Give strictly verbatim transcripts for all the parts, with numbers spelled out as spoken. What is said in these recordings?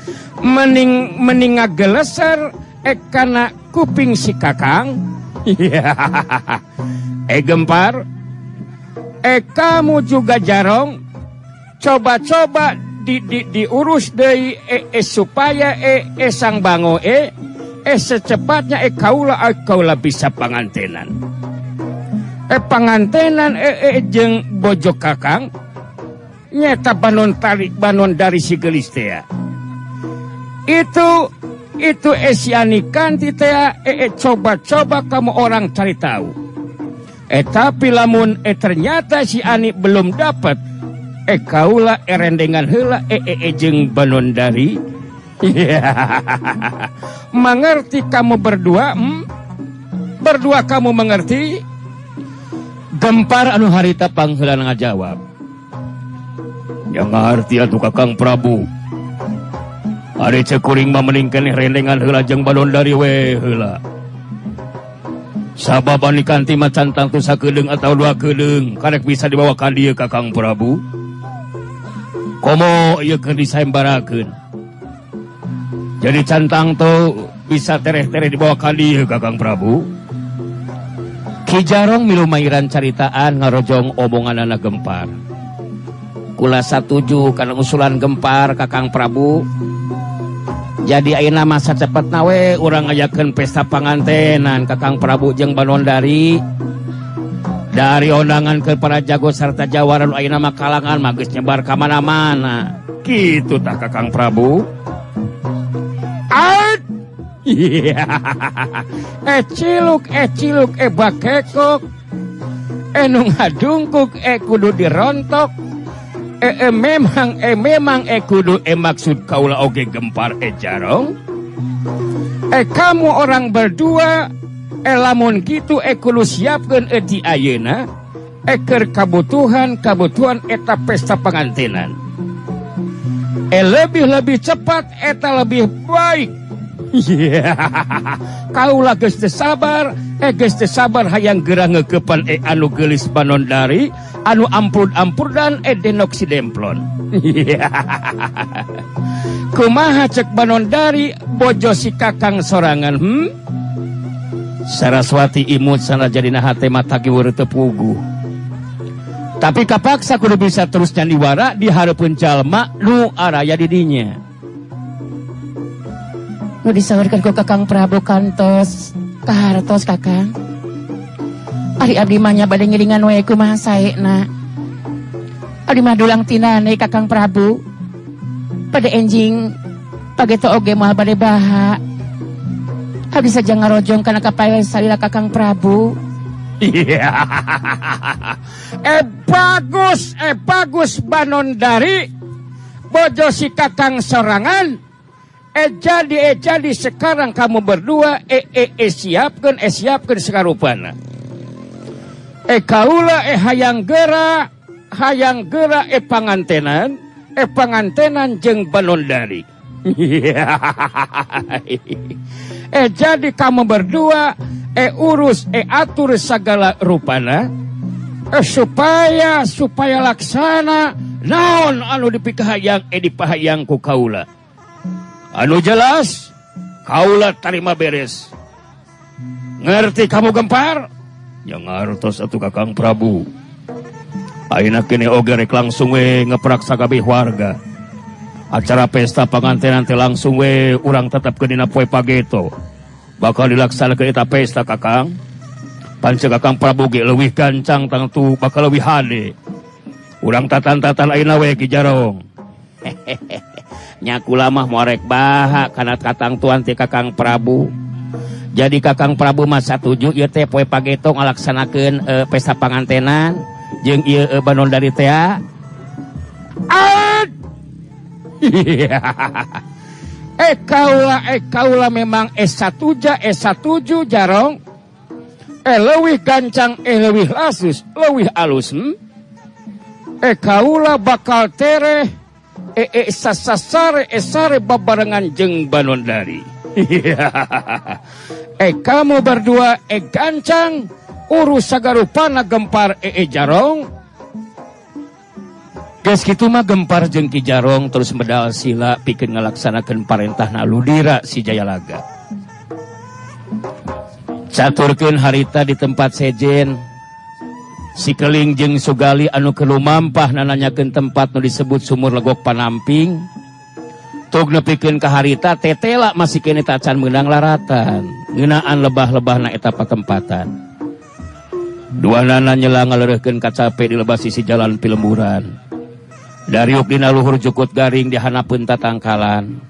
Mening mening ngageleser eh kana kuping si kakang. Eh Gempar, eh kamu juga Jarong, coba-coba di, di, diurus deh eh, eh, supaya eh, eh sang bango eh eh secepatnya eh kaula eh, kaula bisa pangantenan. Eh pangantenan eh, eh jeng bojo kakang nyata banon tarik banon dari si gelis teh. Itu itu esianikan titea eh, eh coba-coba kamu orang cari tahu. Eh tapi lamun eh ternyata si Ani belum dapat eh kaula erendengan heula eh eh, eh jeng banon dari. Mengerti kamu berdua? Hmm? Berdua kamu mengerti? Gempar anu harita pangheula ngajawab. Ya ngarti atuh Kakang Prabu. Ari cekuring mah meningkeun rendengan heula jeung balon dari we heula. Sababan kanti mah cantang tu sakedeung ataau dua kedeung karek bisa dibawa ka dieu Kakang Prabu. Komo ieu keur disembarakeun. Jadi cantang tuh bisa tereh-tereh dibawa ka dieu Kakang Prabu. Ki Jarong milu mairan caritaan ngarojong omonganana Gempar. Kula satuju kana usulan Gempar Kakang Prabu. Jadi ayeuna masa cepetna we urang ngajakeun pesta pangantenan Kakang Prabu jeung Banondari. Dari undangan ke para jago sarta jawaran ayeuna mah kalangan mah geus nyebar ka mana-mana. Kitu tah Kakang Prabu. Ait. Eh ciluk eh ciluk eh bakekok. Eh nu ngadungkuk eh kudu dirontok. Eh, eh memang eh memang eh kudu eh maksud kaula oge Gempar eh Jarong. Eh kamu orang berdua eh lamun kitu eh kudu siapkeun eh di ayeuna eh keur kabutuhan kabutuhan eta pesta pangantenan. Eh lebih-lebih cepat eta lebih baik. Kaula geus teu sabar eh geus teu sabar hayang geura ngeukepan eh anu geulis Banondari anu ampur-ampurdan eh denok si demplon. Kumaha cek Banondari bojo si Kakang sorangan hmm? Saraswati imut sana jadina hate mata kiweur teu puguh. Tapi kapaksa kudu bisa terus nyandiwara di hareupeun jalma nu araya di dinya. Nu disawarkeun ku Kakang Prabu kantos kahartos Kakang. Ari abdi mah nya bade ngiringan we kumaha saena. Abdi mah dulang tinane Kakang Prabu. Pada enjing pageto oge moal bade baha. Abdi saja ngarojong kana kapaelan salila Kakang Prabu. Eh bagus, eh bagus Banondari. Bojo si Kakang sorangan. Eh jadi, eh jadi sekarang kamu berdua eh eh, eh siapkeun, eh siapkeun sakarupana. Eh kaula eh hayang geura, hayang geura eh pangantenan, eh pangantenan jeung Banondari. Eh jadi kamu berdua eh urus eh atur segala rupana eh supaya supaya laksana naon anu dipikahayang eh dipahayang ku kaula. Anu jelas kaula tarima beres. Ngerti kamu Gempar? Ya ngartos atuh Kakang Prabu. Ayeuna kene oge rek langsung we ngeprak sakabeh warga. Acara pesta pangantenan teh langsung we urang tetepkeun dina poe pageto. Bakal dilaksanakeun eta pesta Kakang. Pancen Kakang Prabu ge leuwih gancang tangtu bakal leuwih hade. Urang tatan-tatan ayeuna we Ki Jarong. Nya kula mah morek baha kana katang tuan ti Kakang Prabu. Jadi Kakang Prabu mah satuju ieu teh poe pageto ngalaksanakeun e, pesta pangantenan jeung ieu e, Banondari teh. Eh kaula eh kaula memang eh satuja eh satuju Jarong. Eh leuwih gancang eh leuwih lasus leuwih alus hmm? Eh kaula bakal tereh eh eh sasasare eh sare babarengan jeung Banondari. Eh kamu berdua eh gancang urus sagarupana Gempar eh, eh Jarong. Geus kitu mah gempar jeung Ki Jarong terus medal sila pikeun ngalaksanakeun parentahna Ludira si Jayalaga. Caturkeun harita di tempat sejen si Keling jeung Sugali anu keur lumampah nananyakeun tempat nu disebut Sumur Legok Panamping. Tug nepikeun ka harita tetela masih kene tacan meunang laratan ngeunaan lebah-lebahna eta patempatan. Duanana nyela ngaleureuhkeun kacape di lebah sisi jalan pilemburan. Dariuk dina luhur jukut garing dihanapeun tatangkalan.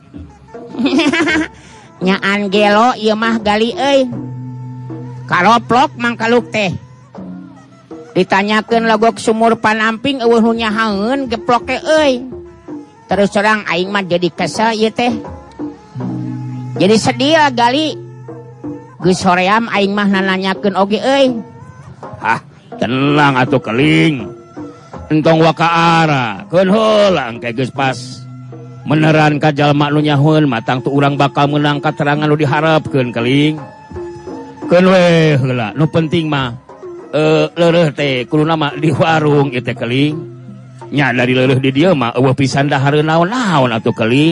Nyaan gelo ieu mah gali euy. Kaloplok mangkaluk teh. Ditanyakeun Legok Sumur Panamping eueuh nu nyahaeun geplok teh euy. Terus terang aing mah jadi kesel ieu teh. Jadi sedih gali. Geus hoream aing mah nananyakeun oge euy. Hah, tenang atuh Keling. Entong wakaara, keun heula engke geus pas. Meneran ka jalma nu nyahoeun matang tu urang bakal meunang katerangan nu diharapkeun Keling. Keun we heula, nu penting mah eh leureuh teh kuluna mah di warung ieu teh Keling. Nya dari leureuh di dieu mah eueuh pisan dahareun naon-naon atuh Keling.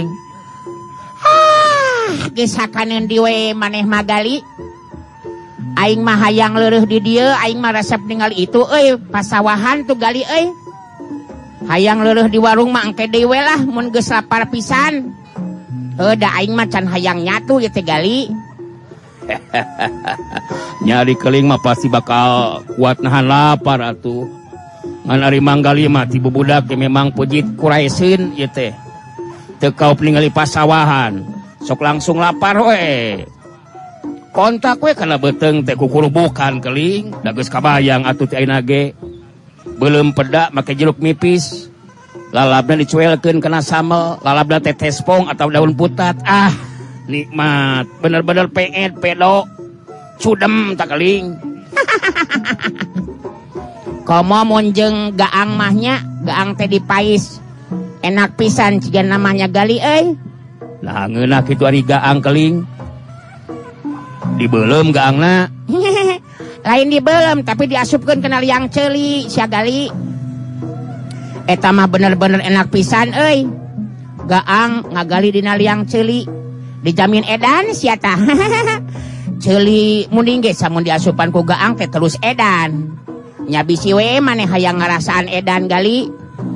Ah, geus sakaneun di we maneh mah gali. Aing mah hayang leureuh di dieu, aing mah resep ningali itu euy, pasawahan tuh gali euy. Hayang leureuh di warung mah engke dewe lah mun geus lapar pisan. Heuh da aing mah can hayang nyatu ieu teh gali. Nyari Keling mah pasti bakal kuat nahan lapar atuh. Ngan ari manggali mah ti bubudak ge memang pujit kuraiseun ieu teh. Teu kaup ningali pasawahan, sok langsung lapar we. Kontak we kana beuteng teh kukurubukan Keling, da geus kabayang atuh ti ayeuna ge. Belum peda make jeruk nipis. Lalabna dicuelkeun kena sambel, lalabna teh tespong atau daun putat. Ah, nikmat, bener-bener peet pedo. Cudem tak Keling. Komo mun jeung gaang mahnya, gaang teh dipais. Enak pisan cigan namanya gali euy. Lah ngeunah kitu ari gaang Keling. Dibeulem gaangna. Lain dibeulem tapi diasupkeun kana liang ceuli sia gali. Eta mah bener-bener enak pisan euy. Gaang ngagali dina liang ceuli. Dijamin edan sia tah. Ceuli munding ge samun diasupan ku gaang teh terus edan. Nya bisi we maneh hayang ngarasaan edan gali.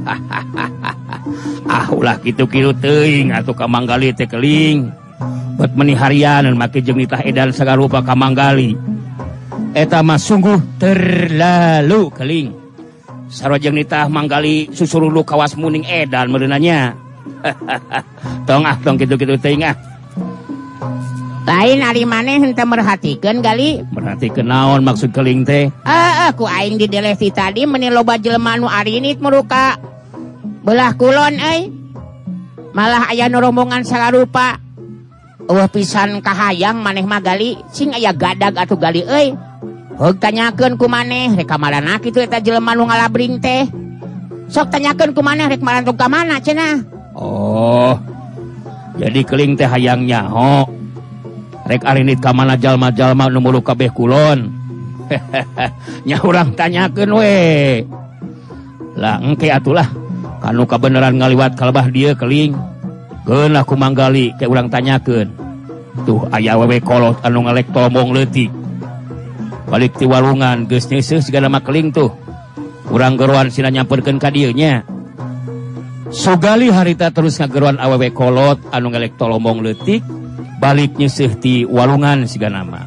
Ah ulah kitu-kitu teuing atuh ka manggali teh Keling. Bet meuni harian make jeung nitah edan sagarupa ka manggali. Eta mah sungguh terlalu Keling. Sarojeng nitah manggali susurulu kawas muning edan meureunanya. Tong ah tong kitu-kitu teuing ah. Lain ari maneh henteu merhatikeun gali. Merhatikeun naon maksud Keling teh? Heeh, ku aing di delesi tadi meuni loba jelema nu arinit muruka belah kulon euy. Malah aya nu rombongan sagarupa. Eueuh pisan kahayang maneh mah gali, sing aya gadag atuh gali euy. Heug tanyakeun ku maneh rek ka marana kitu eta jelema nu ngalabring teh. Sok tanyakeun ku maneh rek marantong ka mana cenah. Oh. Jadi Keling teh hayang nyaho. Rek arinit ka mana jalma-jalma nu mulu kabeh kulon. Nya urang tanyakeun we. Lah engke atulah kanu kabeneran ngaliwat kalebah dieu Keling. Geun aku manggali ke urang tanyakeun. Tuh aya wewe kolot anu ngalek tomong leutik. Balik ti walungan geus nyeuseus sigana mah Keling tuh. Urang geroan sina nyamperkeun ka dieu nya. Sugali harita terus ngageroan awewe kolot anu ngalek tolomong leutik. Balik nyeuseus ti walungan sigana mah.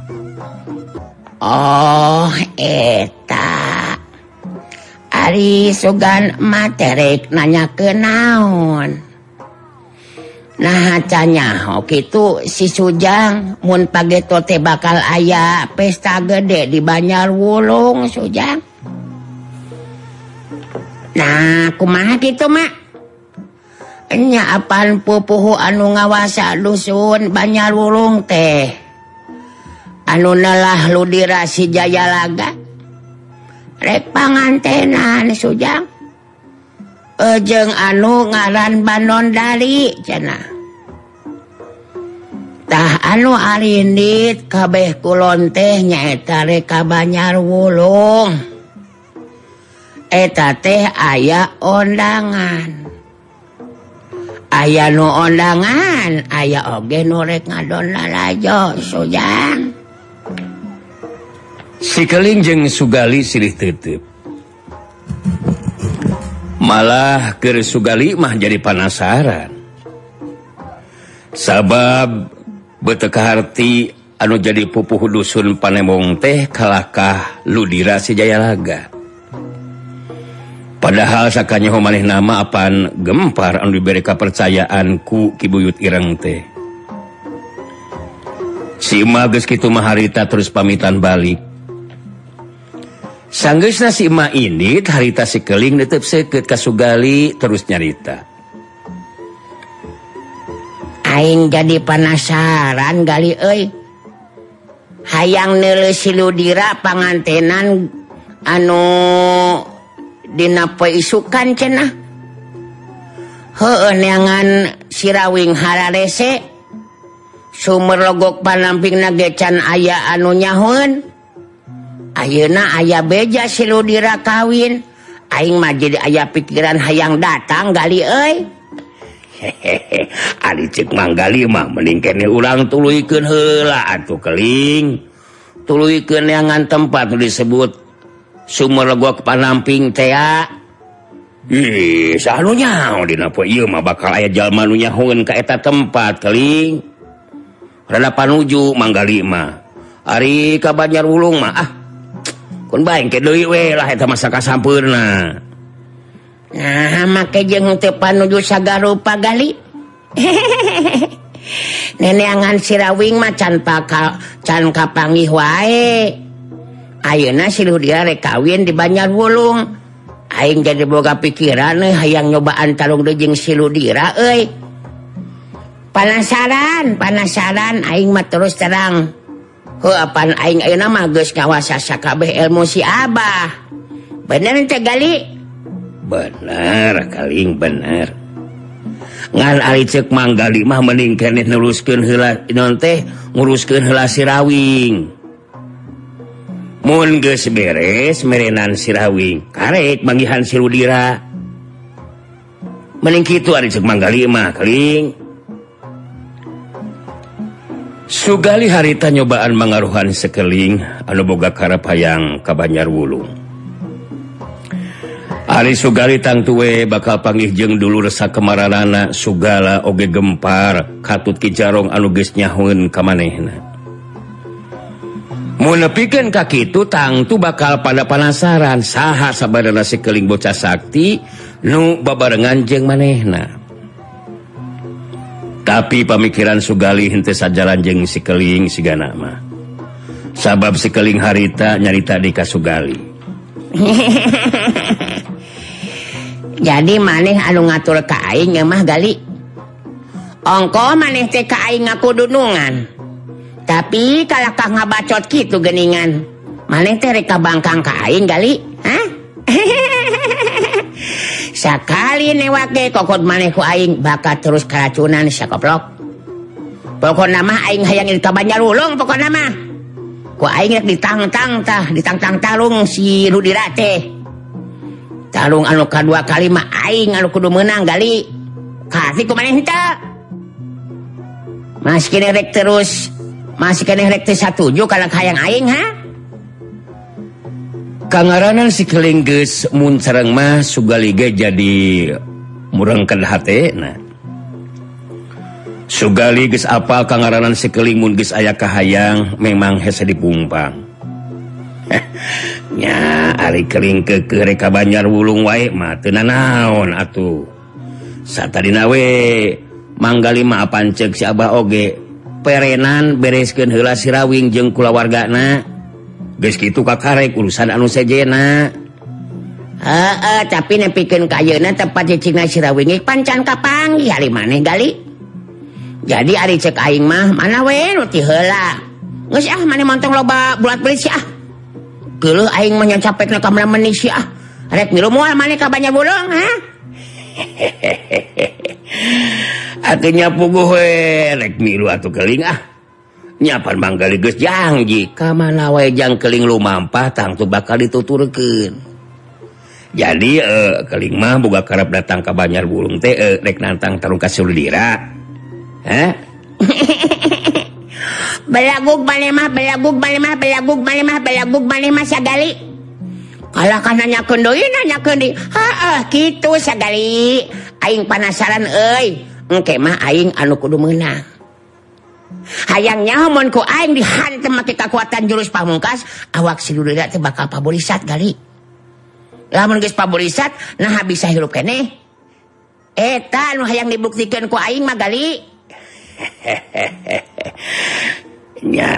Oh, eta. Ari sugan materik nanyakeun naon. Nah canya oh kitu si Sujang mun pageto teh bakal aya pesta gede di Banyarwulung Sujang. Nah kumaha kitu mak? Nya apaan pupuhu anu ngawasa dusun Banyarwulung teh anu nelah Ludira si Jayalaga rek pangantenan Sujang. Ejeng anu ngaran Banondari cenah. Tah anu arindit kabeh kulon teh nyaeta rek ka Banyarwulung. eta teh aya ondangan. Aya nu ondangan, aya oge nu rek ngadon lalajo, Sujang. Si Keling jeung Sugali silih teuteub. Malah keur Sugali mah jadi penasaran. Sabab beuteuk kaharti anu jadi pupuh dusun Panembong teh kalakah Ludira si Jayalaga. Padahal sakanyaho maneh nama apan Gempar anu diberi kepercayaan ku Ki Buyut Ireng teh. Si Ima geus kitu mah harita terus pamitan balik. Sanggeusna si Ima ini harita si Keling netep seukeut ka Sugali terus nyarita. Aing jadi penasaran gali euy. Hayang neuleus si Ludira pangantenan anu dina poe isukan cenah. Heueuh neangan Sirawing hararese. Sumber logok panampingna ge can aya anu nyahoeun. Ayeuna aya beja si Ludira kawin. Aing mah jadi aya pikiran hayang datang gali euy. Hehehe, ari ceuk manggali mah mending kene urang tuluykeun heula atuh Keling. Tuluykeun neangan tempat nu disebut Sumber Logok Panamping teh. Ih, saha nu nyaho dina poe ieu mah bakal aya jalma nu nyahoeun ka eta tempat Keling. Rada panuju manggali mah. Ari ka Banjarwulung mah ah. Kun bae ke deui we lah eta masa kasampeurna. Nah, make jeung teu panuju sagarupa gali. Neneangan Sirawing mah can paka can kapanggih wae. Ayeuna si Ludira rek kawin di Banjarwulung. Aing jadi boga pikiran euy hayang nyobaan talung deui jeung si Ludira euy. Panasaran, panasaran aing mah terus terang. Heuh apan aing ayeuna mah geus ngawasa sakabeh ilmu si Abah. Bener teh gali? Bener Keling bener. Ngan ari ceuk manggali mah mending keneh neruskeun heula naon teh nguruskeun heula Sirawing. Mun geus beres merenan Sirawing, karek manggihan si Ludira. Mending kitu ari ceuk manggali mah Keling. Sugali harita nyobaan mangaruhan Sekeling anu boga karep hayang ka Banjarwulung. Ari Sugali tangtu we bakal panggih jeung dulur sakemaranana Sugala oge Gempar katut Ki Jarong anu geus nyahoeun ka manehna. Mun nepikeun ka kitu tangtu bakal pada penasaran saha sabadana si Keling bocah sakti nu babarengan jeung manehna. Tapi pamikiran Sugali henteu sajalan jeung si Keling sigana mah. Sabab si Keling harita nyarita di ka Sugali. Jadi maneh anu ngatur ka aing mah gali. Ongko maneh teh ka aing ngaku dunungan. Tapi kalakah ngabacot kitu geuningan. Maneh teh rek kabangkang ka aing gali, hah? Sakali newake kokot maneh ku aing bakal terus karacunan sakoplok. Pokona mah aing hayang ka Banjarwulung pokona mah. Ku aing rek ditangtang tah, ditangtang talung si Ludira teh. Talung anu kadua kali mah aing anu kudu meunang gali. Kasih ku maneh henteu. Masih kene rek terus, masih kene rek teu satuju kana hayang aing ha? Kangaranan si Keling geus mun sareng mah Sugali ge jadi murengkeun hatena. Sugali geus apal kangaranan si Keling mun geus aya kahayang memang hese dipungpang. Nya ari Keling keukeuh rek ka Banjarwulung wae mah teu nanaon atuh. Satadina we manggali mah apan ceuk si Abah oge perenan bereskeun heula Sirawing jeung kulawargana. Geus kitu kakarek urusan anu sejena. Heeh, tapi nepikeun ka ayeuna tempat cicingna Sirawing pancan kapanggih ari maneh gali. Jadi ari ceuk aing mah mana we nu ti heula. Geus ah maneh montong loba bulat beli si ah. Geuleuh aing mah nya capekna ka meuni si ah. Rek milu moal maneh ka Banjarwulung ha? Atunya puguh we rek milu atuh Keling ah. Nyapan manggali geus janji ka mana wae jang Keling lumampah tangtu bakal dituturkeun. Jadi eh, keling mah boga karep datang ke Banjar Bulung teh eh, rek nantang tarung ka Suludira. Hah? Belagug maneh mah, belagug maneh mah, belagug maneh mah, belagug maneh mah sagali. Kalah kan nanyakeun deui, nanyakeun deui. Heeh, kitu sagali. Aing penasaran euy. Engke mah aing anu kudu meunang. Hayangnya mun ku aing dihantem make kekuatan jurus pamungkas, awak Suludira teh bakal paborisat gali. Lamun geus paborisat, nah bisa hirup keneh. Eta nu hayang dibuktikeun ku aing mah gali. Nya.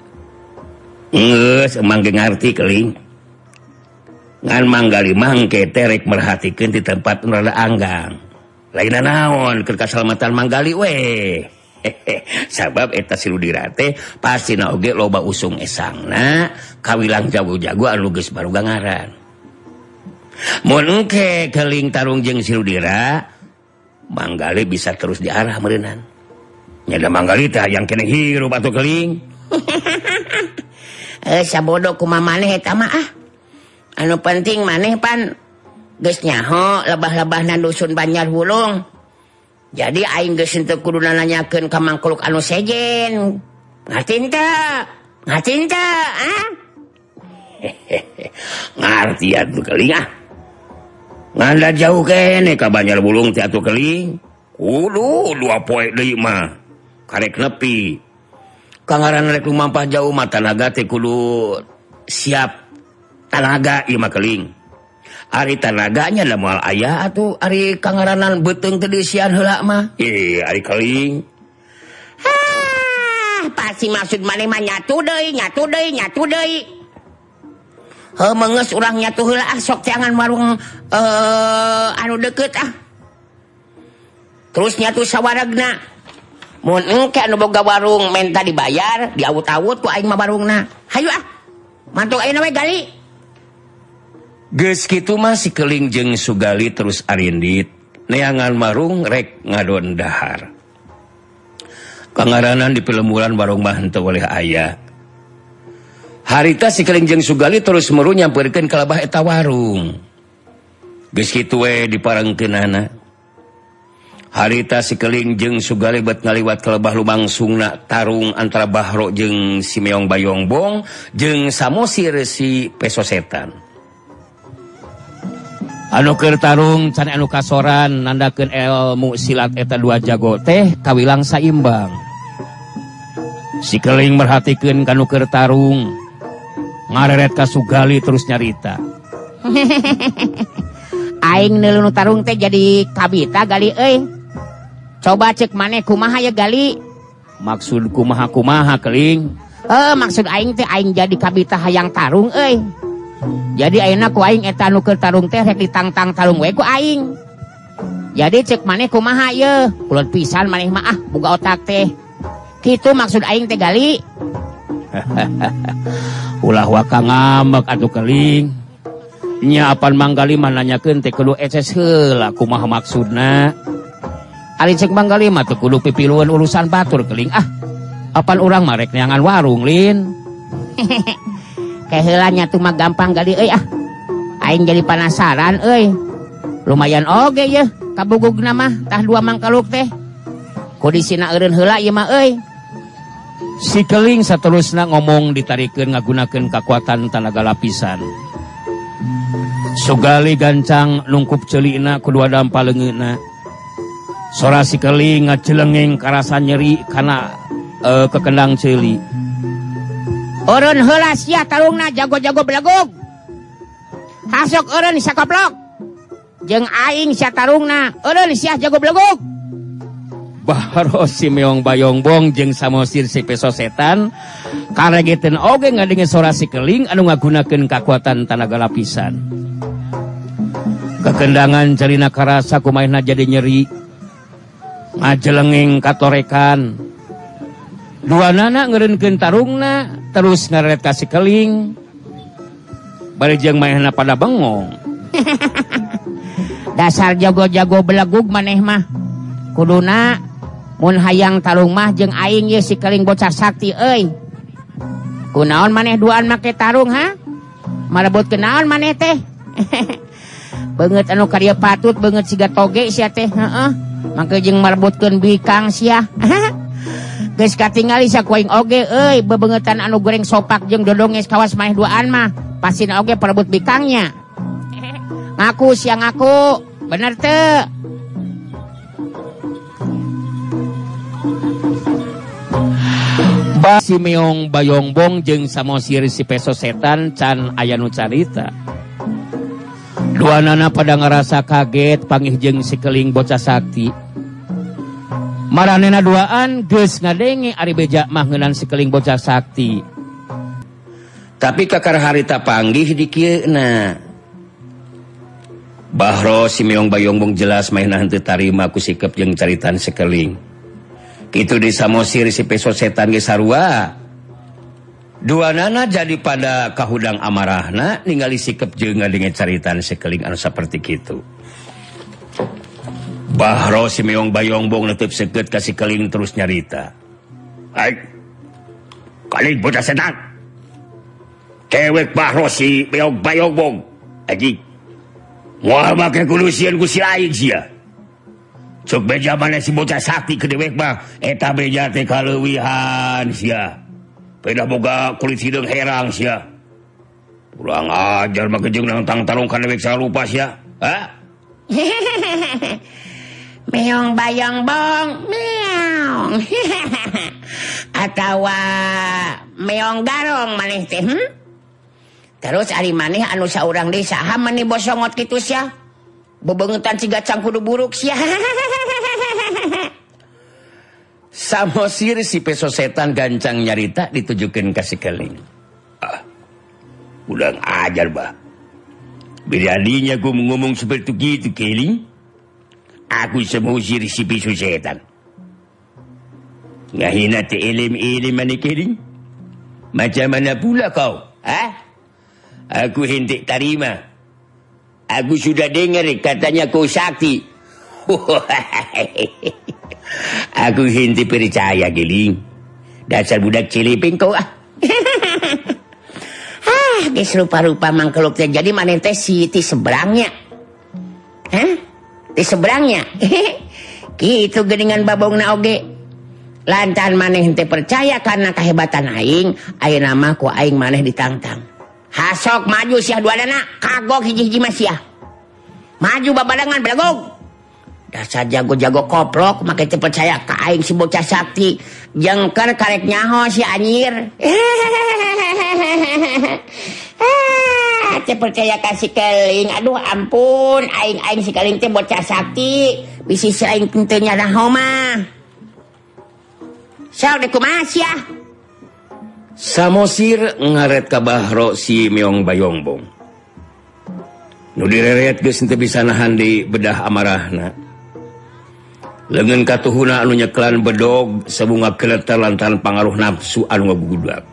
Geus emang ngarti keling. Ngan manggali mangke terek merhatikeun di tempat nu rada anggang. Lain naon keur kasalamatan manggali we. Sabab eta Suludira teh pastina oge loba usung esangna kawilang jago-jago anu geus baruga ngaran. Mun engke keling tarung jeung Suludira, manggali bisa terus diarah meureunnan. Nyada manggali teh yang keneh hirup atuh keling. Eh sabodo kumaha maneh eta mah ah. Anu penting maneh pan geus nyaho lebah-lebahna dusun Banjar Bulung. Jadi aing geus teu kudu nanyakeun ka mangkuluk anu sejen. Ngarti teu? Ngarti teu? Ah? Ngarti atuh keling ah. Nganda jauh kene ka Banjar Bulung teh atuh keling. Kudu dua poe deui mah. Karek nepi. Kangaran rek lumampah jauh mah tanaga teh kudu siap tanaga ieu mah keling. Ari tanaganya da moal aya atuh ari kangaranan beuteung teh deusian heula mah. Ih, ari keling. Hah, pasti maksud maneh mah nyatu deui, nyatu deui, nyatu deui. Heuh meungeus urang nyatu heula ah sok jangan warung uh, anu deukeut ah. Terus nyatu sawaragna. Mun engke anu boga warung menta dibayar, diawut-awut ku aing mah warungna. Hayu ah. Mantuk ayeuna we gali. Geus kitu mah si keling jeung Sugali terus arindit. Neangan marung rek ngadon dahar. Kangaranan di pelumuran warung mah henteu oleh aya. Harita si keling jeung Sugali terus meru nyampeurkeun ka lebah eta warung. Geus kitu we diparengkeunana. Harita si keling jeung Sugali bet ngaliwat ka lebah lumangsungna tarung antara Bahro jeung si Meong Bayongbong jeung Samosir si Peso Setan. Anu keur tarung can anu kasoran nandakeun ilmu silat eta dua jago teh kawilang saimbang. Si keling merhatikeun kanu keur tarung. Ngareret ka Sugali terus nyarita. Aing neuleuh nu tarung teh jadi kabita gali euy. Coba cek maneh kumaha ya gali. Maksud kumaha-kumaha keling? Eh maksud aing teh aing jadi kabita hayang tarung euy. Jadi ayeuna ku aing eta nu keur tarung teh rek ditangtang tarung we ku aing. Jadi cek maneh kumaha ye? Kulon pisan maneh mah ah boga otak teh. Kitu maksud aing teh gali. Ulah waka ngambek atuh keling. Nya apan manggali mah nanyakeun teh kudu eces heula kumaha maksudna. Ari cek manggali mah teu kudu pipilueun urusan batur keling ah. Apan urang mah rek neangan warung lin. Keheulanya tuh mah gampang gali euy ah. Aing jadi penasaran euy. Lumayan oge ye kabugugna mah tah dua mangkaluk teh. Kondisina eureun heula ieu mah euy. Si keling saterusna ngomong ditarikeun ngagunakeun kekuatan tenaga lapisan. Sugali gancang nungkup ceulina kedua dampa leungeunna. Sora si keling ngacelengeng karasa nyeri kana uh, kekendang ceuli. Eureun heula sia tarungna jago-jago belagog. Hasok eureun sakoplok. Jeung aing sia tarungna, eureun sia jago belagog. Bahro si Meong Bayongbong jeung Samosir si Peso Setan karegeteun oge ngadengeun sora si keling anu ngagunakeun kekuatan tenaga lapisan. Kekendangan carina karasa kumaha jadi nyeri. Ngajelengeng katorekan. Dua nana ngeureunkeun tarungna terus ngaret ka si keling. Bari jeung maehna pada bengong. Dasar jago-jago belagug maneh mah. Kuduna mun hayang tarung mah jeung aing ye si keling bocah sakti euy. Kunaon maneh duaan make tarung ha? Marebut kenaon maneh teh? banget anu karya patut banget siga toge sia teh heeh mangke jeung marbutkeun bikang sia geus katingali sakuaing oge euy bebengetan anu goreng sopak jeung dodong geus kawas maneh duaan mah pasina oge perebut bikangnya ngaku sia ngaku bener teu si meong bayongbong jeung Samosir si peso setan can aya nu carita. Duanana pada ngerasa kaget panggih jeung sikeling bocah sakti. Maranena duaan geus ngadenge ari beja mah ngeunaan sikeling bocah sakti. Tapi kakar harita panggih di kieuna. Bahro si meong bayongbong jelas mainna henteu tarima ku sikep jeung caritan sikeling. Kitu di Samosir si peso setan ge sarua. Duanana jadi pada kahudang amarahna ningali sikep jeung ngadenge caritan sikeling anu saperti kitu. Bahro si meong bayongbong neuteuk seukeut ka sikeling terus nyarita. Ai. Kali bocah setan. Kewek Bahro si meong bayongbong. Aji. Moal make kulusieun ku si lain sia. Cuk beja mana si bocah sakti ke dewek mah eta beja teh kaleuwihan sia. Peda boga kulit hidung herang sia. Kurang ajar mah jeung nantang tarungkan dewek sarupa sia. Ha? Meong bayongbong meong. Atawa meong garong maneh teh hmm? Terus ari maneh anu saurang deui saha maneh bosongot kitu sia? Bebengetan ciga cangkudu buruk sia. Samosir si peso setan gancang nyarita ditujukeun ka sikeling. Ah. Ulang ajar bah. Beraninya ku ngomong seperti itu keling. Aku Samosir si peso setan. Ngahina te elim-elim mani keling. Macam mana pula kau? Ha? Aku hentik tarima. Aku sudah dengar katanya kau sakti. Aku henti percaya geling. Dasar budak celiping kau ah. Ah, geus rupa-rupa mangkeluk teh jadi maneh teh si ti seberangnya. Hah? Ti seberangnya. Kitu geuningan babongna oge. Lantaran maneh teh percaya karena kehebatan aing, ayeuna mah ku aing maneh ditantang. Hasok maju sia duanana kagok hiji-hiji mah sia. Maju babadangan belagog. Dasar jago-jago koplok make teu percaya ka aing si bocah sakti. Jengker karek nyaho si anyir. Ah, teu percaya ka si keling. Aduh ampun, aing-aing si keling teh bocah sakti. Bisi si aing teu nyaho mah. Saur deh kumaha sia? Samosir ngaret ka Bahro si meong bayongbong. Nu direret geus teu bisa nahan di bedah amarahna. Leungeun katuhuna anu nyeklan bedog sabunga keleter lantaran pangaruh nafsu anu ngabugudag.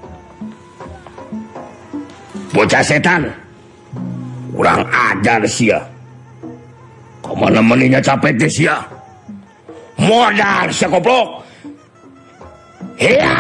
Bocah setan. Kurang ajar sia. Kamana maninya capek teh sia. Modal sia goblok. Ya.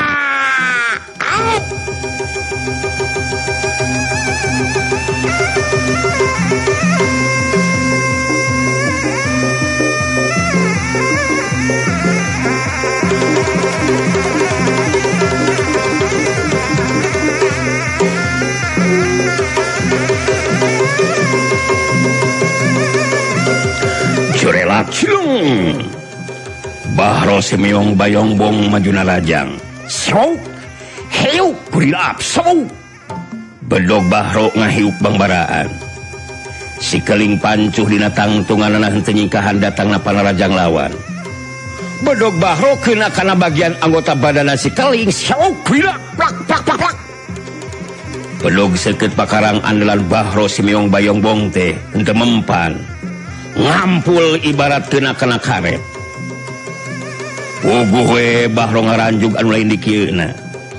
Curelak cilung. Bahro si meong bayongbong majuna lajang. Sok. Hiup kurilap sok. Bedog Bahro ngahiup bangbaraan. Si keling pancuh dina tangtunganana henteu nyingkahan datangna panarajang lawan. Bedog Bahro keuna kana bagian anggota badanna si keling sok kurilap plak plak plak plak. Bedog seukeut pakarang andalan Bahro si meong bayongbong teh henteu mempan. Ngampul ibarat kena kena karet. Puguh we Bahro ngaranjug anu lain di kieuna.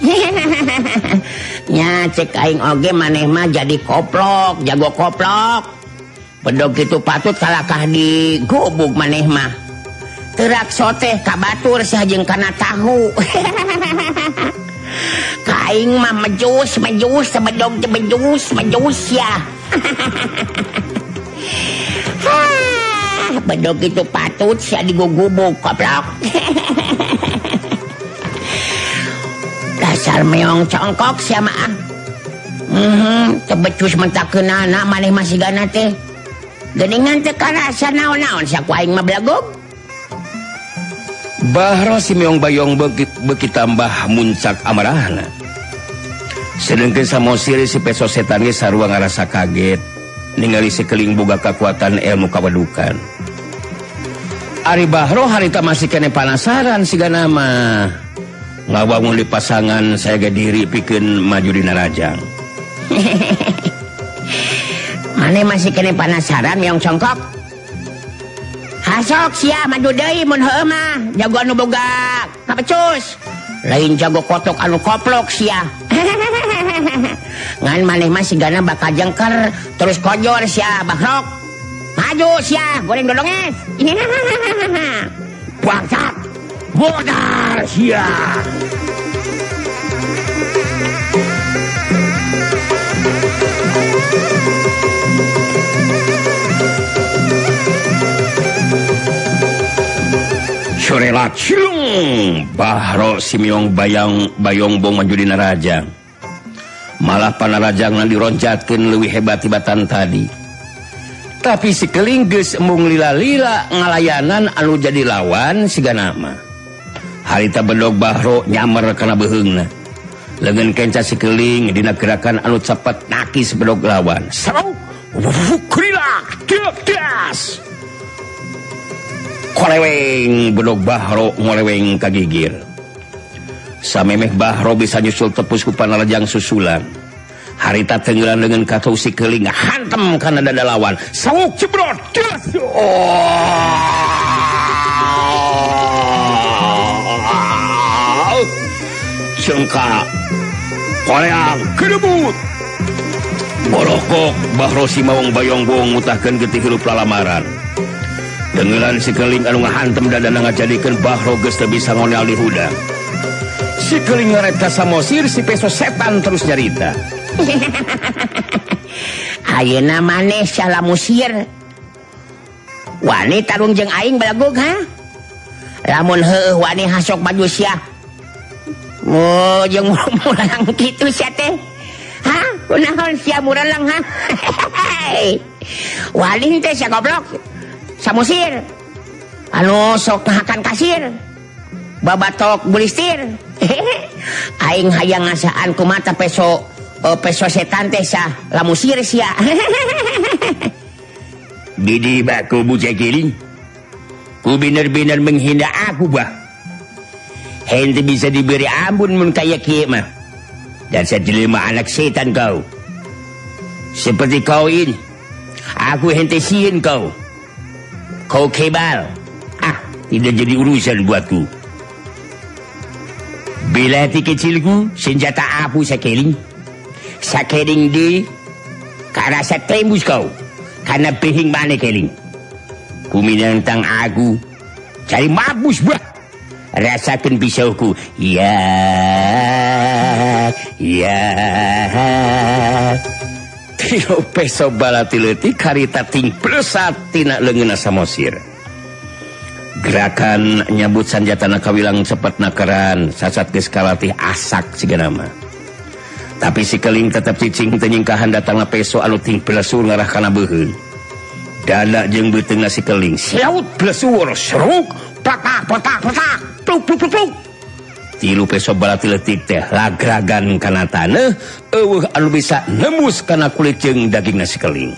Nya cek aing oge maneh mah jadi koplok, jago koplok. Bedog kitu patut kalakah di gubuk maneh mah. Teurak soteh ka batur sajeung kana tahu. Ka aing mah mejus, mejus, sebedog teh mejus, mejus ya. bedog itu patut sia digugubuk goblok. Dasar meong congkok sia mah. Mhm, teu becus mentakeunana maneh masih gana teh. Geuningan teu karasa naon-naon sia ku aing mah blagog. Bahro si meong bayong beuki, beuki tambah muncak amarahna. Sedengkeun Samosir si peso setan ge sarua ngarasa kaget ningali sekeuling boga kakuatan ilmu kawedukan. Ari Bahro harita masih kene panasaran sigana mah ngawangun di pasangan saya ge diri pikeun maju dina rajang. Mane masih kene panasaran meong congkok? Hasok sia maju deui mun heueuh mah jago anu boga kapecus. Lain jago kotok anu koplok sia. Ngan maneh mah sigana bakal jengker terus kojor sia Bahrok. Maju sia goreng dodonges. Bangsat. Modal sia. Sorela cilung Bahro si meong bayang bayong bong maju dina rajang. Malah panarajangna dironjatkeun leuwih hebat tibatan tadi. Tapi si keling geus embung lila-lila ngalayanan anu jadi lawan sigana mah. Harita bedog Bahro nyamer kana beheungna. Leungeun kenca si keling dina gerakan anu cepet nakis bedog lawan. Sarau kulila gas. Koleweng bedog Bahro ngoleweng kagigir. Samemeh Bahro bisa nyusul tepus ku panarajang susulan. Harita tenggelan dengan katou si keling hantem kana dada lawan. Sawuk cebrot. Oh. Cengka. Koleang kedebut. Borokok Bahro si mawang bayong-bong mutahkeun getih hirup lalamaran. Tenggelan si keling anu ngahantem dadana ngajadikeun Bahro geus teu bisa ngonel di hudang. Si keling ngaret ka Samosir si peso setan terus nyarita. Ayeuna maneh salah musir. Wani tarung jeung aing balagog ha? Lamun heueuh wani hasok maju sia. Oh, jeung muralang kitu sia teh. Ha? Kunaon sia muralang ha? Wani teh sia goblok. Samosir. Anu sok ngahakan kasir. Babatok bulistir. Aing hayang ngasaan ku mata peso uh, peso setan teh sah lamusir sia. Bidi baku bucah keling. Ku bener-bener menghina aku bah. Hente bisa diberi ampun mun kaya kieu mah. Dasar jelema anak setan kau. Seperti kau ini. Aku hente sieun kau. Kau kebal. Ah, tidak jadi urusan buatku. Bila hati kecilku, senjata apu sakeling. Sakeling di karasa tembus kau. Karena pehing mana keling. Kuminantang aku. Cari mabus bah. Rasakan pisauku. Ya, ya. Tio peso balati-letik harita ting plesat tina leungeunna Samosir. Gerakan nyabut sanjatana kawilang cepet nakeran sasat geus kalatih asak sigana mah. Tapi si keling tetep cicing teu nyingkahan datangna peso anu ting plesur ngarah kana beuheung. Dada jeung beuteungna si keling siaut plesur seruk patak patak patak pluk pluk pluk pluk. Tilu peso balati-letik teh lagragan kana taneuh eueuh anu bisa nembus kana kulit jeung dagingna si keling.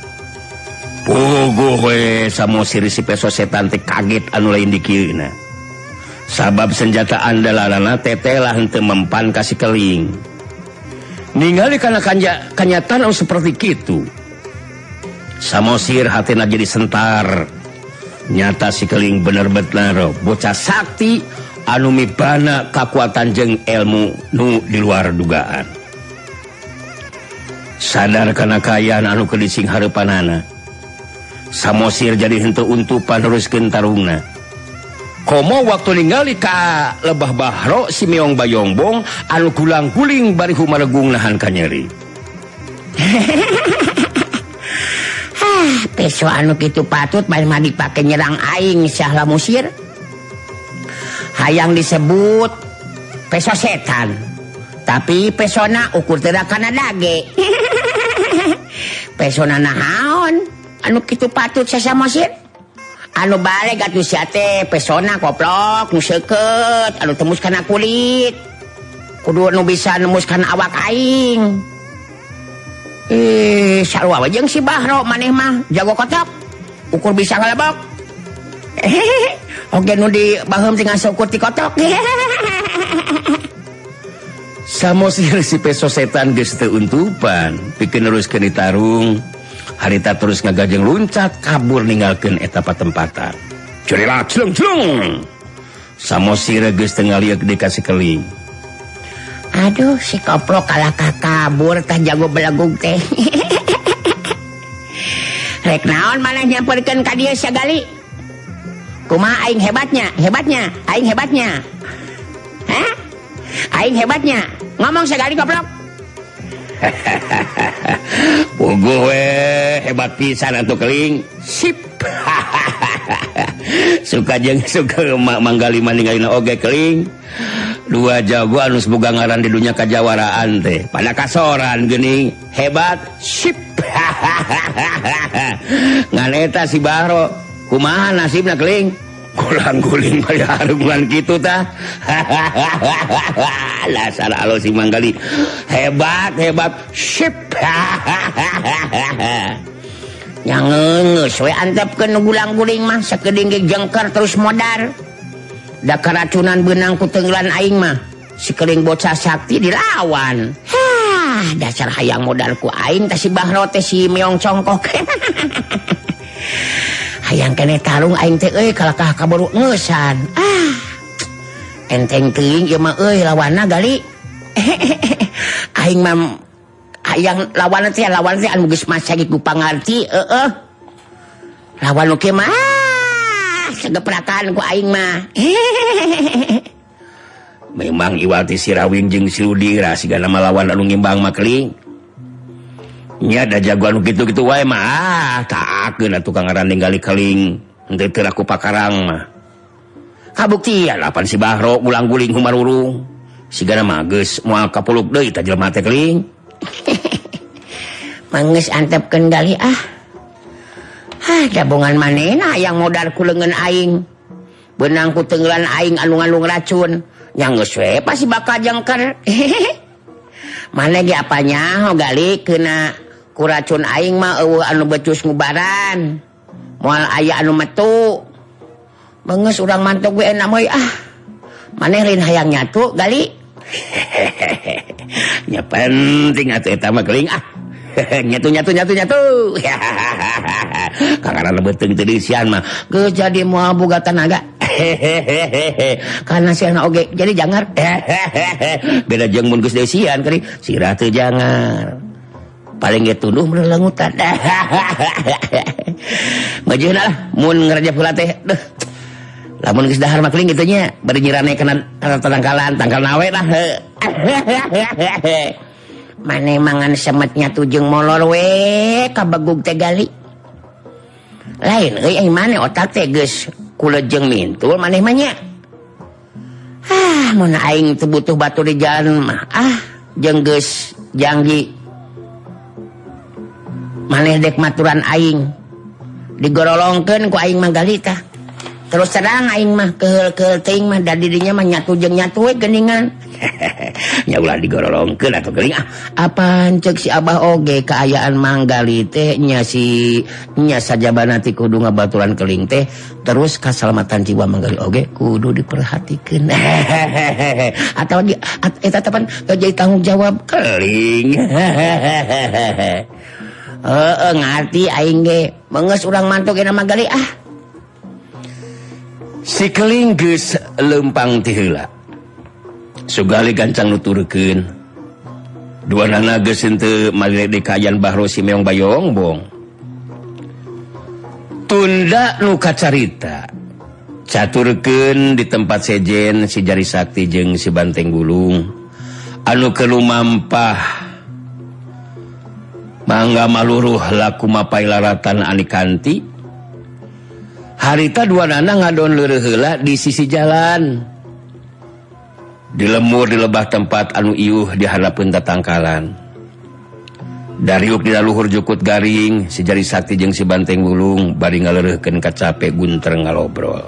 Puguh we Samosir si peso setan teh kaget anu lain di kieuna. Sabab senjata andalanna tetelah henteu mempan ka si keling. Ningali kana kanyataan anu seperti kitu. Samosir hatina jadi sentar. Nyata si keling bener-bener bocah sakti anu mibana kakuatan jeung ilmu nu di luar dugaan. Sadar kana kaayaan anu kedising hareupanana. Samosir jadi henteu untupan neruskeun tarungna. Komo waktu ningali ka lebah Bahro si meong bayongbong anu gulang-guling bari humalegung nahan ka nyeri. ah peso anu kitu patut main mah dipake nyerang aing Syahla Musir. Hayang disebut peso setan. Tapi pesona ukur teu kana dage. Pesona naon? Anu kitu patut Syahla Musir? Anu balik atuh sia teh pesona koplok nu seukeut anu tembus kana kulit. Kudu nu bisa nembus kana awak aing. Eh, sarua jeung si Bahro maneh mah jago kotok. Ukur bisa ngalebok. Oge nu di baheum tinggal seukur ti kotok. Samosir si peso setan geus teu untupan, pikeun neruskeun di tarung. Harita terus ngagajeng luncat kabur ninggalkeun eta patempatan. Curila celung-celung. Samosir geus teu ngalieu di ka Sikeling. Aduh, si koplok kalah kabur tah jago belegug teh. Rek naon maneh nyamperkeun ka dieu sagali? Kumaha aing hebatnya? Hebatnya? Aing hebatnya? Hah? Aing hebatnya? Ngomong sagali koplok. Puguh we hebat pisan atuh Keling. Sip. Suka jeung suka manggali maninggalina oge Keling. Dua jago anu boga ngaran di dunia kajawaraan teh pada kasoran geuning hebat sip. Ngan eta si Bahro kumaha nasibna Keling? Gulang-guling bari hareuman kitu tah. Lasar alo si manggali hebat hebat sip. Nyangeungeus we antepkeun gulang-guling mah sakeuding ge jengker terus modar. Da keracunan benang ku tenggelan aing mah Sikeling bocah sakti dilawan. Hah, dasar hayang modal ku aing teh si Bahro teh si meong congkok. Hayang kene tarung aing teh euy kalakah kaburu ngeusan. Ah. Enteng teuing ieu mah euy lawanna gali. Aing mah hayang lawan teh lawan teh anu geus masagi ku pangarti, heeh. Lawan oke mah segeprakan ku aing mah. Memang Iwati Sirawin jeung si Ludira sigana lawan anu ngimbang mah Keling. Nya da jago anu kitu-kitu wae mah ah taakeun atuh kang ngaran ninggali Keling henteu teu laku pakarang mah. Kabuktian lapan si Bahro gulang-guling humarurung. Sigana mah geus moal kapuluk deui ta jelema teh Keling. Manggeus antepkeun gali ah. Hah, gabungan manehna yang modal ku leungeun aing. Benang ku tenggelan aing anu ngandung racun. Yang geus we pasti bakal jengker. Maneh ge apanya gali kena ku racun aing mah eueuh anu becus ngubaran. Moal aya anu metu. Beungeus urang mantok we enak meuy ah. Maneh lain hayang nyatu gali. Nya penting atuh eta mah Keling ah. Nyatu nyatu nyatu nyatu. Kangaran beuteung teu disian mah geus jadi moal boga tenaga. Karena si anak oge jadi jangar. Beda jeung mun geus desian kari sirah teu jangar. Paling ge tunduh merelengutan. Majeuna lah mun ngarajap heula teh. Duh. Lamun geus dahar mah Keling kitu nya bari nyirane kana tangkalan tangkal nawe lah. Maneh mangan semetnya tu jeung molor we kabegug teh gali. Lain euy ai maneh otak teh geus kulejeng mintul maneh mah nya. Ah, mun aing teu butuh batu di jalan mah ah jeung geus janggi. Maneh dek maturan aing. Digorolongkeun ku aing mah gali tah. Terus terang aing mah keheul-keheul teuing mah da didinya mah nyatu jeung nyatu we geuningan. Nya ulah digorolongkeun atuh Keling ah. Apaan cek si Abah oge kaayaan manggali teh nya si nya sajabana ti kudu ngabaturan Keling teh terus kasalamatan jiwa manggali oge kudu diperhatikeun. Atau di eta tepan jadi tanggung jawab Keling. Heeh ngarti aing ge meungeus urang mantuk ena manggali ah. Si Keling geus leumpang ti heula. Sugali gancang nuturkeun. Duanana geus henteu malih di kayan Bahro si meong bayongbong. Tunda nu kacarita. Caturkeun di tempat sejen si Jari Sakti jeung si Banteng Gulung anu kelu mampah mangga maluruh laku mapai laratan Anikanti. Harita dua nana ngadon leureuk heula di sisi jalan. Di lemur di lebah tempat anu iuh di hadapeun tatangkalan. Dariuk di luhur jukut garing, si Jari Sakti jeung si Banteng Wulung bari ngaleureuhkeun ka capek gunter ngalobrol.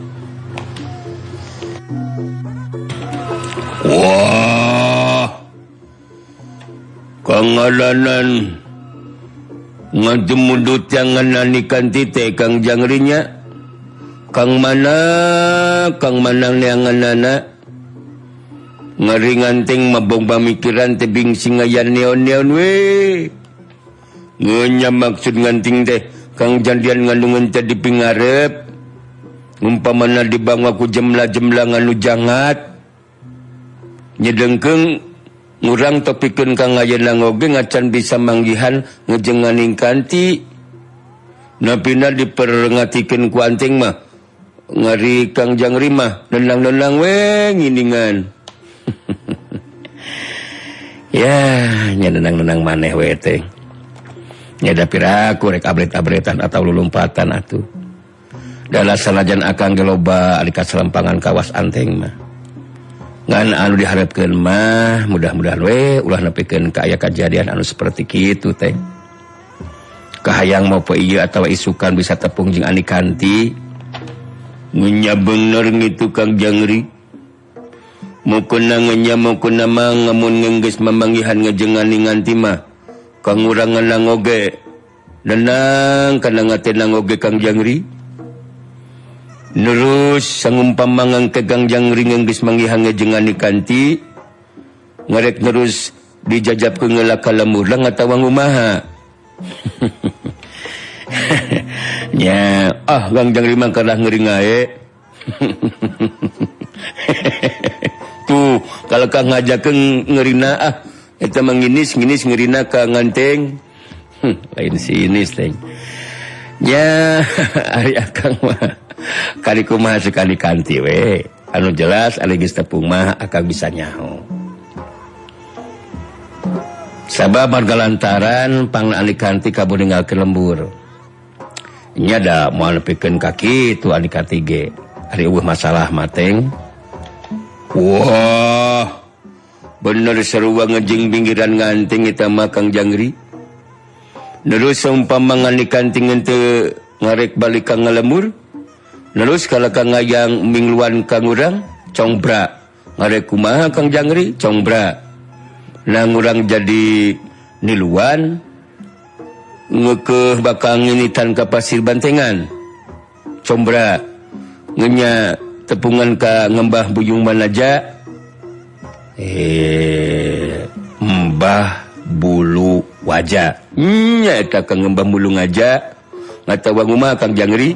Wah, Kang Adanan ngademudut jangan nanikan tite Kang Jangrinya. Kang mana, Kang manang neanganana ngari nganting mabong pamikiran tebing singayan neon-neon we. Ngenya maksud nganting teh Kang jandian ngandungan tadi pingarep. Umpamana dibangwa ku jemlah-jemlah nganu jangat. Nyedengkeung ngurang topikeun Kang ayeuna ngoge ngacan bisa manggihan ngejenganing kanti. Napina diperengatikeun ku anting mah ngari Kang Jangri mah nenang-nenang we nginingan. Ya, nya nenang-nenang maneh we teh. Nya da piraku rek abret-abretan atau lulumpatan atuh. Dala salajan akang ge loba ari kaselempangan kawas anteng mah. Ngan anu diharapkeun mah mudah-mudahan we ulah nepikeun ka aya kejadian anu seperti kitu teh. Kahayang mau poe ieu atawa isukan bisa tepung jeung Anikanti. Nya bener ngitu Kang Jangri. Mukuna ngenya mukuna mah ngamun ngenggeus mamanggihan ngejengani nganti mah Kang urang nganang oge nenang kana ngatenang oge Kang Jangri. Nurus sangumpamangang ke Kang Jangri ngenggeus manggihan ngejengani kanti ngarek nerus dijajabkeun ngelaka lemurlang atawa ngumaha. Nya ah Kang Jangri mah kadah ngeuring ae. Tuh, kalau Kang ngajakeun ngeurina ah eta mah nginis-nginis ngeurina ka nganteng. Hm, lain sinis teh. Nya ari akang mah kali kumaha sekali kanti we. Anu jelas ari geus tepung mah akang bisa nyaho. Sabab marga lantaran pang Anikanti kabur ninggalkeun lembur. Nya da moal nepikeun ka kitu Anikanti ge. Ari eueuh masalah mateng. Wah, bener sarua ngejing pinggiran nganting eta mah Kang Jangri. Terus saumpama Anikanti teu ngarek balik ka ngalemur. Terus kalau Kang ngayang mingluan Kang urang congbra. Ngarek kumaha Kang Jangri congbra. Nang urang jadi niluan ngekeuh bakal nginitan ka pasir bantengan. Combra ngenya tepungan ka ngembah buyung manaja eh mbah bulu wajah nya eta ka ngembah bulu ngaja ngatawa ngumaha Kang Jangri.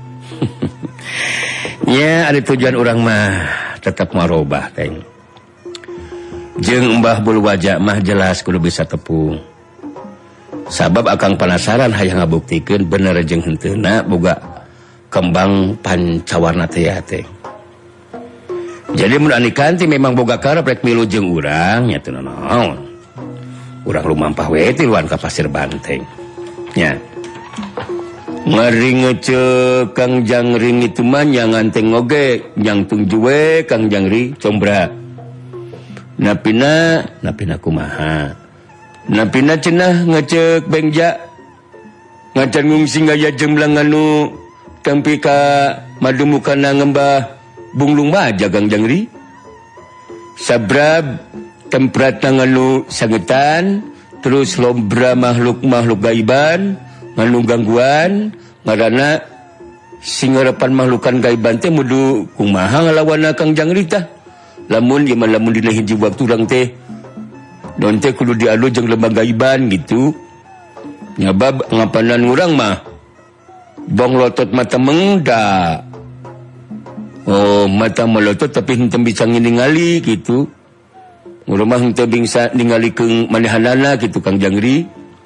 Nya ada tujuan orang mah tetap marobah teh jeung mbah bulu wajah mah jelas kudu bisa tepung sabab akang penasaran hayang ngabuktikeun bener jeung henteuna boga kembang pancawarna teh teh. Jadi mun Anikanti memang boga karep rek milu jeung urang nya teu naon. Urang lumampah we tiluan ka pasir banteng. Nya. Ngari ngeceuk Kang Jangri itu mah nya nganteng oge nyang tungju we Kang Jangri combra. Napina napina kumaha? Napina cenah ngeceuk Bengja. Ngacan ngungsi gaya jemblang anu tempi ka madumukana ngembah bunglung maja Kang Jangri. Sabrab temprat nganu sangetan terus lombra makhluk-makhluk gaiban nganu gangguan ngaranna singarepan makhlukan gaiban teh mudu kumaha ngalawan Kang Jangri tah. Lamun ieu mah lamun dina hiji waktu urang teh don teh kudu diadu jeung lembah gaiban gitu. Nyabab ngapanan urang mah bong lotot mata mengda. Oh, mata melotot tapi henteu bisa ngingali gitu. Urang mah henteu bisa ningalikeun manehanana gitu Kang Jangri.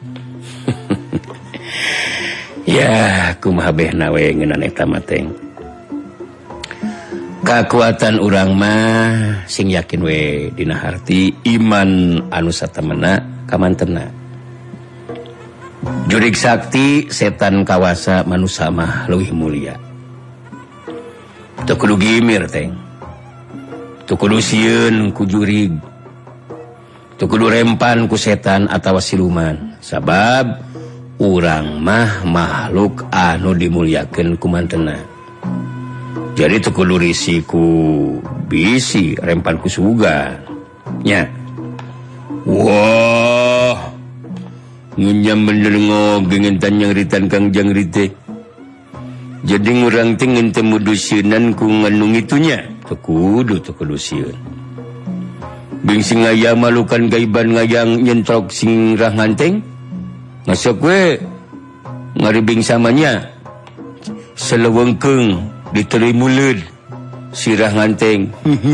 Ya, kumaha behna we ngeunana eta mah teh. Kakuatan urang mah sing yakin we dina harti iman anu satemena kamantena. Jurig sakti setan kawasa manusia mah leuwih mulia. Teu kudu gimir teng. Teu kudu sieun ku jurig. Teu kudu rempan ku setan atawa siluman. Sabab urang mah makhluk anu dimuliakeun ku mantena. Jadi teu kudu risiko bisi rempan ku sugan. Nya. Wah. Ngunyam bener ngogeng entan nyangritan Kang Jangri teh. Jadi ngurang teh ngente mudusieunnan ku nganu ngitunya. Teu kudu teu kudu sieun. Bing sing aya malukan gaiban ngayang nyentrok sing rah nganteng. Masuk we ngaribing samanya. Selewengkeung diteri muleud sirah nganteng.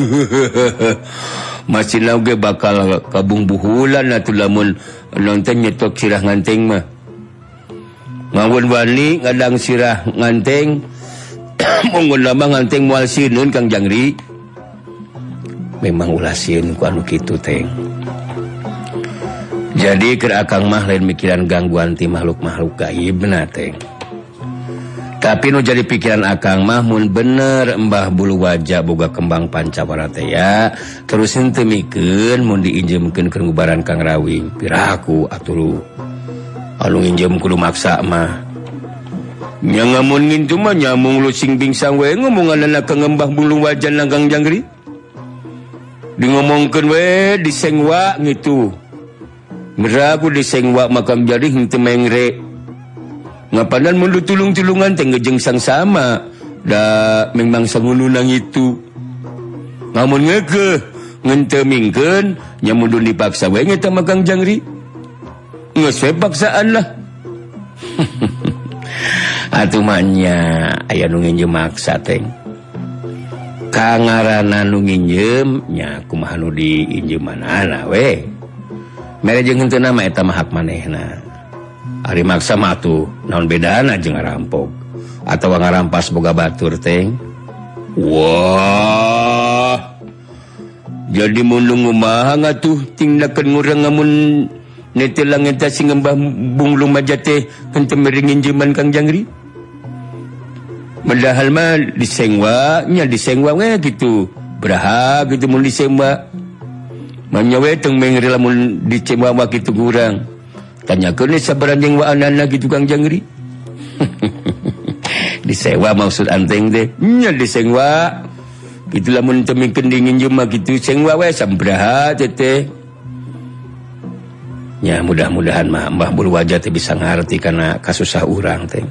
Masih lagi bakal kabung buhulan atuh lamun nonton nyetok sirah nganteng mah. Ngawun wani ngadang sirah nganteng mungkin lama nganteng moal sieun Kang Jangri. Memang ulah sieun ku anu kitu teng. Jadi keur akang mah lain mikiran gangguan ti makhluk-makhluk gaib na teng. Tapi nu jadi pikiran akang mah mun bener Mbah Bulu Wajah boga kembang pancawara teh ya, terus henteu mikeun mun diinjemkeun keur ngubaran Kang Rawing. Piraku atuh anu nginjem kudu maksa mah. Nya ngamun ngintu mah nyamung lu sing bingsang we ngomonganna ka Mbah Bulu Wajah nang Kang Jangri. Di ngomongkeun we disengwa ngitu. Meraku disengwa makam jadi henteu mengre. Ngapanan mundu tulung-tulungan teh ngejeng sang sama da memang sangulunang itu. Ngamun ngeukeun ngenteu mingkeun nya mundu dipaksa we nya mah Kang Jangri. Geus we paksaan lah. Atuh mah nya aya nu nginjem maksa teh. Kangarana nu nginjem nya kumaha nu diinjemanana we. Mere jeung henteu mah eta mah hak manehna. Ari maksa mah tuh naon bedana jeung ngarampok atawa ngarampas boga batur teh. Wah. Jadi mundu ngumaha ngatuh tindakeun ngurang ngamun netelang eta sing Mbah Bulu Wajah teh henteu mere nginjeman Kang Jangri. Padahal mah disengwa nya disengwa we gitu. Beraha gitu mun disengwa. Manya we teu mengre lamun dicengwa kitu kurang. Tanyakeun sabaran jeung waanana gitu Kang Jangri. Disewa maksud anteng teh. Nya disewa. Kitu lamun teu mikeun nginjem mah kitu sengwa we sambraha teh. Ya mudah-mudahan mah Mbah Bulu Wajah teh bisa ngarti kana kasusah urang teh.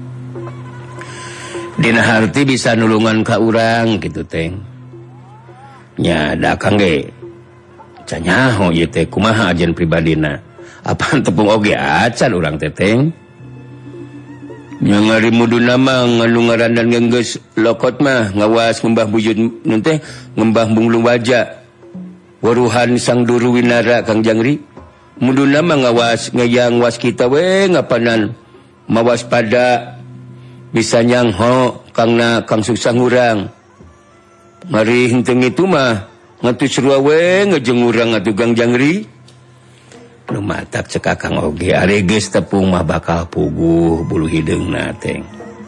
Dina harti bisa nulungan ka urang kitu teh. Nya da Kang ge. Canyaho ieu teh kumaha ajen pribadina. Apaan tepung oge acan urang teteng. Nya ngari muduna mah nganu ngarandan geus lokot mah ngawas ngembah bujut nun teh ngembah Bulu Wajah. Waruhan sang duru winara Kang Jangri. Muduna mah ngawas ngayang was kita we ngapanan mawaspada bisa nyangho kangna kang susah ngurang. Mari henteu itu mah ngatu serua we ngejeng urang atuh Kang Jangri. Nu matak cek akang oge ari geus tepung mah bakal puguh bulu hideungna teh.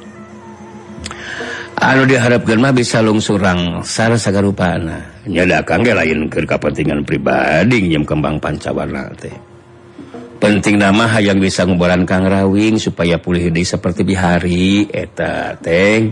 Anu diharapkeun mah bisa lungsurang sar sagarupana. Nya da akang ge lain keur kapentingan pribadi njem kembang pancawarna teh. Pentingna mah hayang bisa ngubaran Kang Rawing supaya pulih deui saperti bihari eta teh.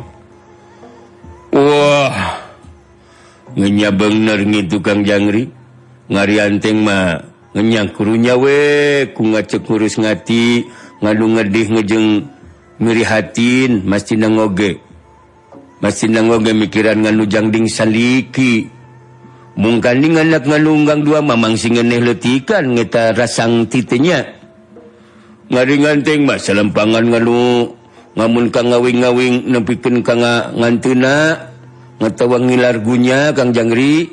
Wah. Ngenya bener ngitu Kang Jangri. Ngari anteng mah ngenyang kurunya we ku ngacek ngurus ngati ngadu ngedih ngejeng mirihatin mastina ngoge mastina ngoge mikiran nganu jangding saliki mungkanding anak ngalunggang dua mamang singeneh letikan ngeta rasang titenya ngari nganteng mas salempangan nganu ngamun Kang ngawing-ngawing nepikeun ka ngantuna ngatawang ngilar gunya Kang Jangri.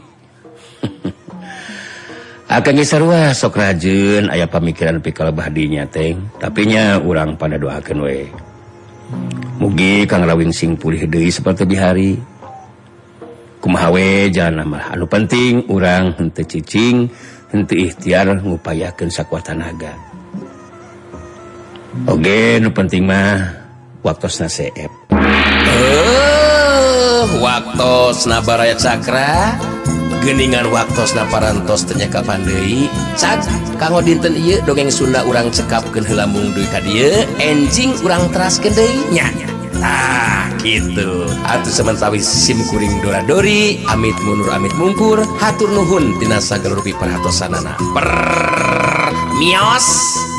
Akan sarua sok rajeun aya pamikiran pikal bahdinya teh. Tapi nya urang pada doakeun we. Mugi Kang Rawing sing pulih deui saperti bihari. Kumaha we jangan mah anu penting urang henteu cicing, henteu ikhtiar ngupayakeun sakuat tenaga. Oke, nu penting mah waktosna seep. Eh, waktosna baraya cakra, geningan waktosna parantos teu nya kapan deui. Cad, kanggo dinten ieu dongeng Sunda urang cekapkeun heula mung duit ka dieu, enjing urang teraskeun deui nya. Ah, gitu. Atuh sementawis sim kuring dora-dori, amit mundur amit mungkur, hatur nuhun tina sagala rupi perhatosanana. Per mios.